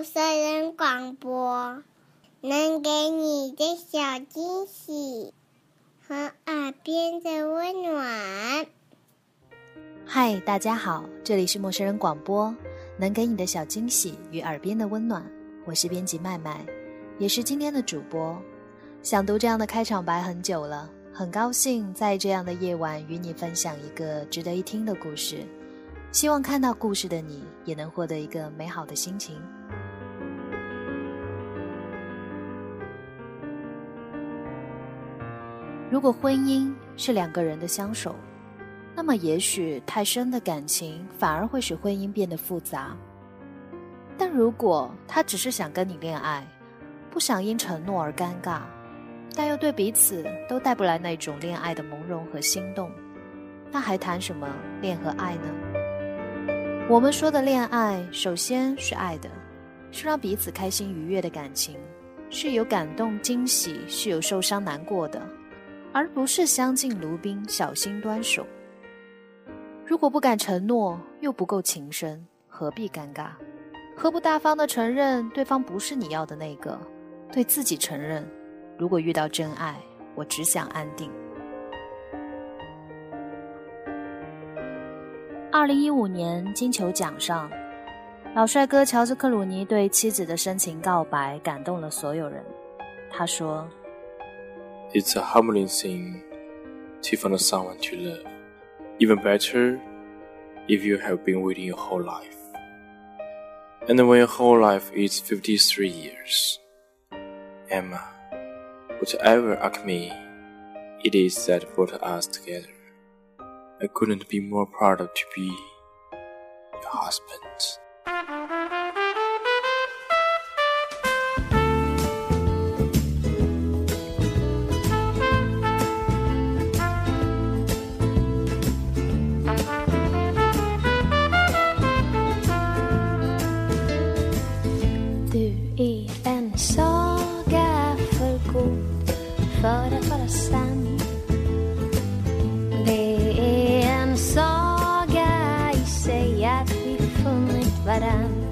色人广播，能给你的小惊喜和耳边的温暖。 嗨，大家好，这里是陌生人广播，能给你的小惊喜与耳边的温暖。我是编辑麦麦，也是今天的主播。想读这样的开场白很久了，很高兴在这样的夜晚与你分享一个值得一听的故事，希望看到故事的你也能获得一个美好的心情。如果婚姻是两个人的相守，那么也许太深的感情反而会使婚姻变得复杂。但如果他只是想跟你恋爱，不想因承诺而尴尬，但又对彼此都带不来那种恋爱的朦胧和心动，那还谈什么恋和爱呢？我们说的恋爱，首先是爱的，是让彼此开心愉悦的感情，是有感动惊喜，是有受伤难过的，而不是相敬如宾小心端手。如果不敢承诺，又不够情深，何必尴尬？何不大方地承认对方不是你要的那个，对自己承认，如果遇到真爱，我只想安定。2015年金球奖上，老帅哥乔治·克鲁尼对妻子的深情告白感动了所有人。他说 It's a humbling thing to find someone to love. Even better if you have been waiting your whole life. And when your whole life is 53 years. Emma, whatever alchemy it is that brought us together, I couldn't be more proud to be your husband. För att vara sann. Det är en saga i sig att vi funnit varann.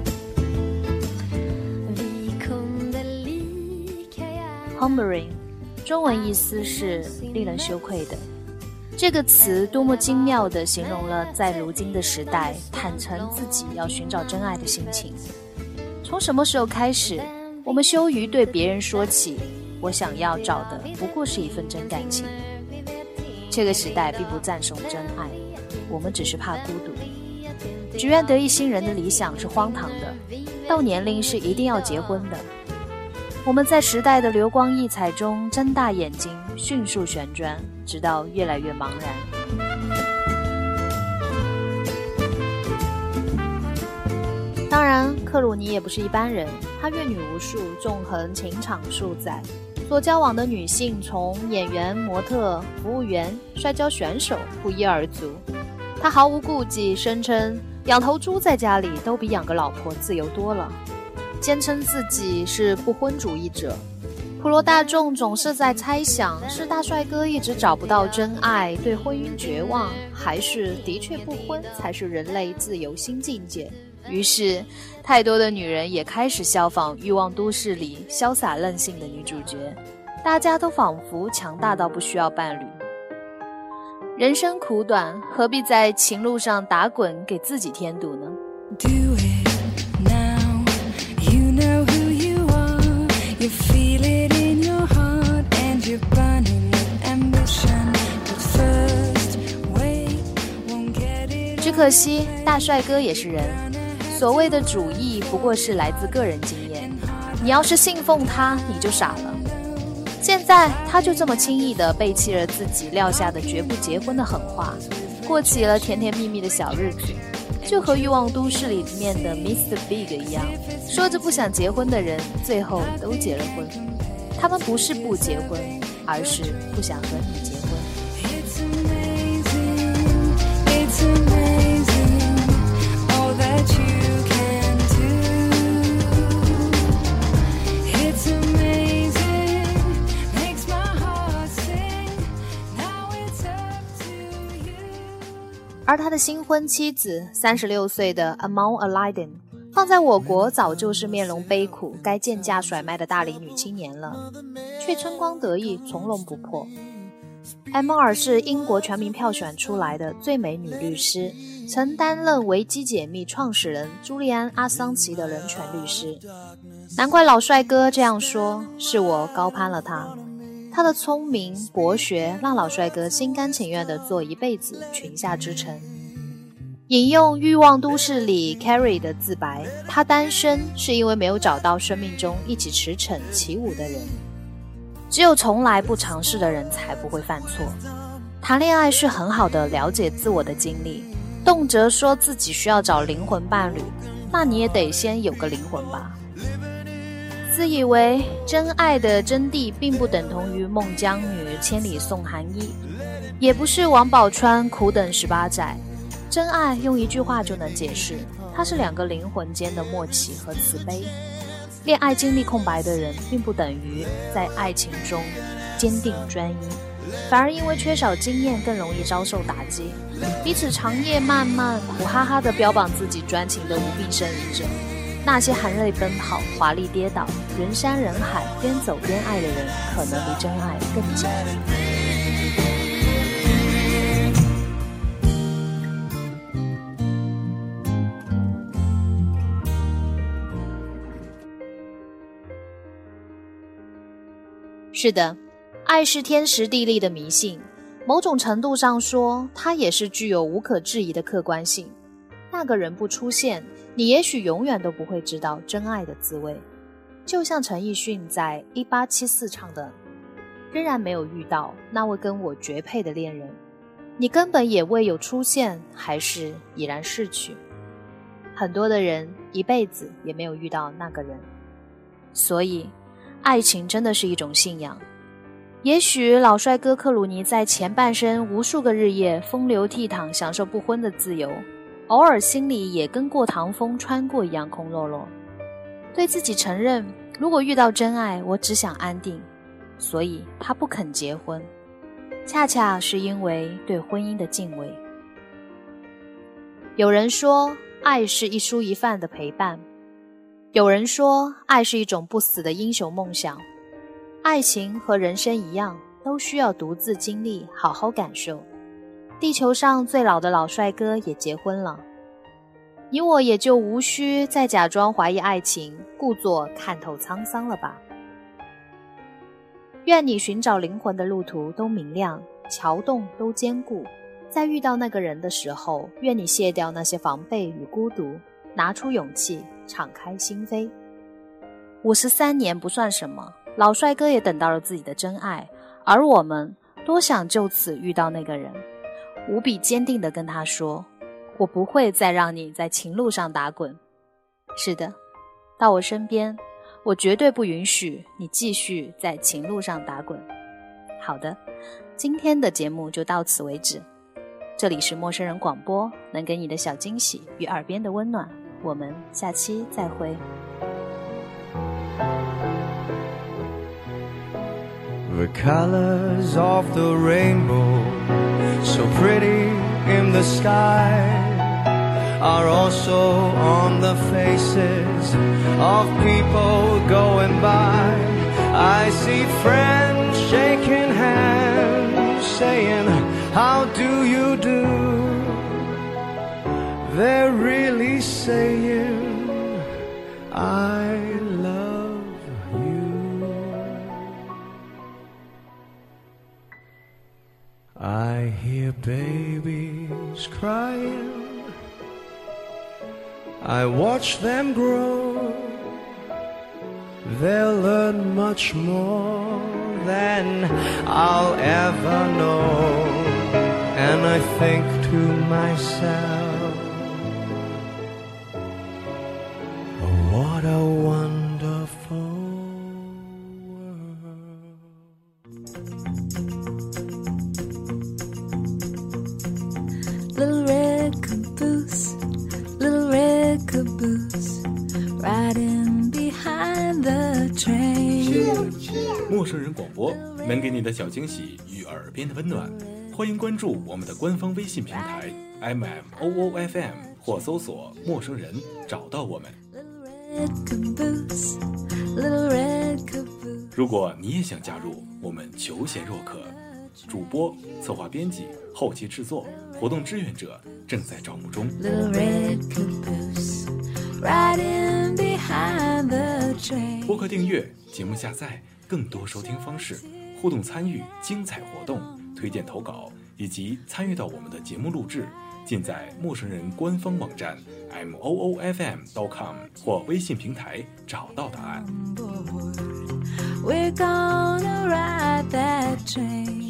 Vi kunde lika gärna. Humbling 中文意思是令人羞愧的。这个词多么精妙地形容了在如今的时代坦诚自己要寻找真爱的心情。从什么时候开始，我们羞于对别人说起我想要找的不过是一份真感情。这个时代并不赞颂真爱，我们只是怕孤独。只愿得一心人的理想是荒唐的，到年龄是一定要结婚的。我们在时代的流光溢彩中睁大眼睛，迅速旋转，直到越来越茫然。当然，克鲁尼也不是一般人，他阅女无数，纵横情场数载，所交往的女性从演员、模特、服务员、摔跤选手不一而足。他毫无顾忌，声称养头猪在家里都比养个老婆自由多了，坚称自己是不婚主义者。普罗大众总是在猜想，是大帅哥一直找不到真爱，对婚姻绝望，还是的确不婚才是人类自由新境界。于是太多的女人也开始效仿欲望都市里潇洒任性的女主角，大家都仿佛强大到不需要伴侣。人生苦短，何必在情路上打滚，给自己添堵呢？ Do it now. You know who you are. You feel it in your heart and you're burning with ambition. But first, wait, won't get it. 只可惜大帅哥也是人，所谓的主义不过是来自个人经验，你要是信奉他，你就傻了。现在他就这么轻易地背弃了自己撂下的绝不结婚的狠话，过起了甜甜蜜蜜的小日子，就和欲望都市里面的 Mr. Big 一样，说着不想结婚的人最后都结了婚。他们不是不结婚，而是不想和你结婚。 It's amazing, it's amazing, all that you can do. It's amazing, makes my heart sing. Now it's up to you. 而他的新婚妻子36岁的 Amon Aladdin 放在我国早就是面容悲苦，该贱价甩卖的大龄女青年了，却春光得意，从容不迫。M2是英国全民票选出来的最美女律师，曾担任维基解密创始人朱利安·阿桑奇的人权律师。难怪老帅哥这样说，是我高攀了他。他的聪明博学让老帅哥心甘情愿地做一辈子裙下之臣。引用《欲望都市》里 Carrie 的自白，他单身是因为没有找到生命中一起驰骋起舞的人。只有从来不尝试的人才不会犯错。谈恋爱是很好的了解自我的经历，动辄说自己需要找灵魂伴侣，那你也得先有个灵魂吧。自以为真爱的真谛并不等同于孟姜女千里送寒衣，也不是王宝钏苦等18载。真爱用一句话就能解释，它是两个灵魂间的默契和慈悲。恋爱经历空白的人并不等于在爱情中坚定专一，反而因为缺少经验更容易遭受打击，彼此长夜漫漫苦哈哈地标榜自己专情的无病呻吟者。那些含泪奔跑华丽跌倒人山人海边走边爱的人，可能离真爱更近。是的，爱是天时地利的迷信，某种程度上说，它也是具有无可置疑的客观性。那个人不出现，你也许永远都不会知道真爱的滋味。就像陈奕迅在1874唱的，仍然没有遇到那位跟我绝配的恋人，你根本也未有出现，还是已然逝去。很多的人一辈子也没有遇到那个人，所以爱情真的是一种信仰。也许老帅哥克鲁尼在前半生无数个日夜风流倜傥，享受不婚的自由，偶尔心里也跟过堂风穿过一样空落落，对自己承认，如果遇到真爱，我只想安定，所以他不肯结婚，恰恰是因为对婚姻的敬畏。有人说，爱是一蔬一饭的陪伴，有人说，爱是一种不死的英雄梦想。爱情和人生一样，都需要独自经历，好好感受。地球上最老的老帅哥也结婚了，你我也就无需再假装怀疑爱情，故作看透沧桑了吧。愿你寻找灵魂的路途都明亮，桥洞都坚固。在遇到那个人的时候，愿你卸掉那些防备与孤独，拿出勇气，敞开心扉。53年不算什么，老帅哥也等到了自己的真爱，而我们多想就此遇到那个人，无比坚定地跟他说，我不会再让你在情路上打滚。是的，到我身边，我绝对不允许你继续在情路上打滚。好的，今天的节目就到此为止。这里是陌生人广播，能给你的小惊喜与耳边的温暖，我们下期再会。 The colors of the rainbow, so pretty in the sky, are also on the faces of people going by. I see friends shaking hands, saying, how do you do? They're really saying, I love you. I hear babies crying, I watch them grow. They'll learn much more than I'll ever know. And I think to myself, oh, what a wonderful world. Little red caboose, little red caboose, riding behind the train. 陌生人广播能给你的小惊喜与耳边的温暖，欢迎关注我们的官方微信平台 MMOOFM 或搜索陌生人找到我们。 如果你也想加入，我们求贤若渴，主播、策划编辑、后期制作、活动志愿者正在招募中。播客订阅、节目下载、更多收听方式、互动参与、精彩活动、推荐投稿以及参与到我们的节目录制，尽在陌生人官方网站 moofm.com 或微信平台找到答案。 We're gonna ride that train.